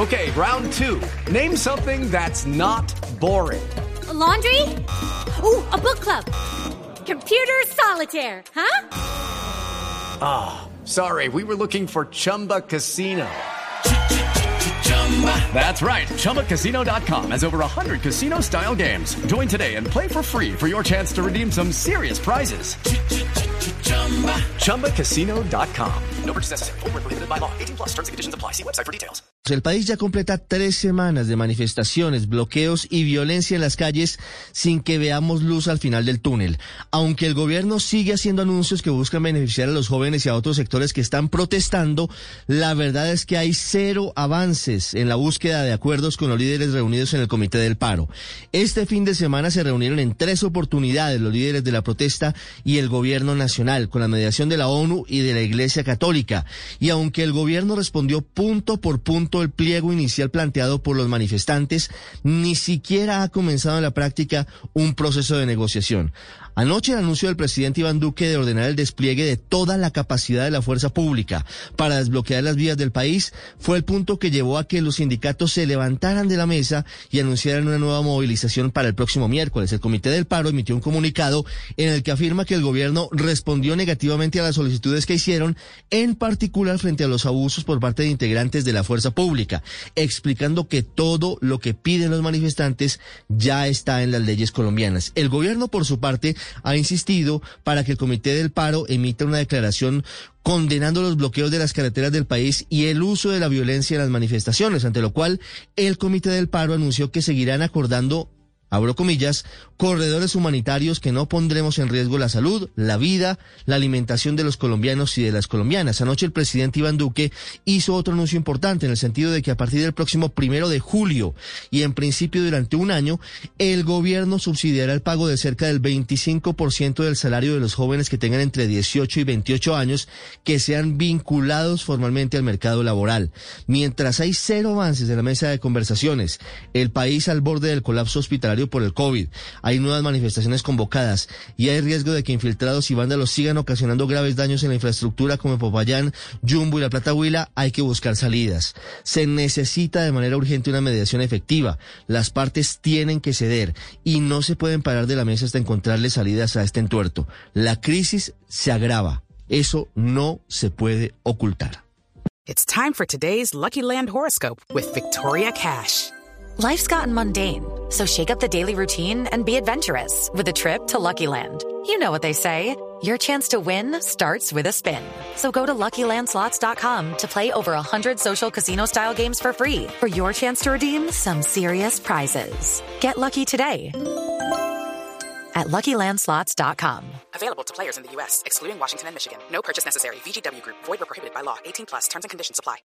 Okay, round two. Name something that's not boring. A laundry? Ooh, a book club. Computer solitaire, huh? Sorry, we were looking for Chumba Casino. That's right. ChumbaCasino.com has over 100 casino-style games. Join today and play for free for your chance to redeem some serious prizes. ChumbaCasino.com. No purchase necessary. Void where prohibited by law. 18+ terms and conditions apply. See website for details. El país ya completa 3 semanas de manifestaciones, bloqueos y violencia en las calles sin que veamos luz al final del túnel. Aunque el gobierno sigue haciendo anuncios que buscan beneficiar a los jóvenes y a otros sectores que están protestando, la verdad es que hay cero avances en la búsqueda de acuerdos con los líderes reunidos en el Comité del Paro. Este fin de semana se reunieron en 3 oportunidades los líderes de la protesta y el gobierno nacional, con la mediación de la ONU y de la Iglesia Católica. Y aunque el gobierno respondió punto por punto el pliego inicial planteado por los manifestantes, ni siquiera ha comenzado en la práctica un proceso de negociación. Anoche el anuncio del presidente Iván Duque de ordenar el despliegue de toda la capacidad de la fuerza pública para desbloquear las vías del país fue el punto que llevó a que los sindicatos se levantaran de la mesa y anunciaran una nueva movilización para el próximo miércoles. El Comité del Paro emitió un comunicado en el que afirma que el gobierno respondió negativamente a las solicitudes que hicieron, en particular frente a los abusos por parte de integrantes de la fuerza pública, explicando que todo lo que piden los manifestantes ya está en las leyes colombianas. El gobierno, por su parte, ha insistido para que el Comité del Paro emita una declaración condenando los bloqueos de las carreteras del país y el uso de la violencia en las manifestaciones, ante lo cual el Comité del Paro anunció que seguirán acordando, abro comillas, corredores humanitarios que no pondremos en riesgo la salud, la vida, la alimentación de los colombianos y de las colombianas. Anoche el presidente Iván Duque hizo otro anuncio importante en el sentido de que a partir del próximo 1 de julio y en principio durante un año, el gobierno subsidiará el pago de cerca del 25% del salario de los jóvenes que tengan entre 18 y 28 años que sean vinculados formalmente al mercado laboral. Mientras hay cero avances en la mesa de conversaciones, el país al borde del colapso hospitalario por el COVID, hay nuevas manifestaciones convocadas y hay riesgo de que infiltrados y vándalos sigan ocasionando graves daños en la infraestructura como en Popayán, Jumbo y La Plata Huila. Hay que buscar salidas. Se necesita de manera urgente una mediación efectiva. Las partes tienen que ceder y no se pueden parar de la mesa hasta encontrarle salidas a este entuerto. La crisis se agrava. Eso no se puede ocultar. It's time for today's Lucky Land horoscope with Victoria Cash. Life's gotten mundane, so shake up the daily routine and be adventurous with a trip to Lucky Land. You know what they say, your chance to win starts with a spin. So go to LuckyLandSlots.com to play over 100 social casino-style games for free for your chance to redeem some serious prizes. Get lucky today at LuckyLandSlots.com. Available to players in the U.S., excluding Washington and Michigan. No purchase necessary. VGW Group. Void where prohibited by law. 18+. Terms and conditions apply.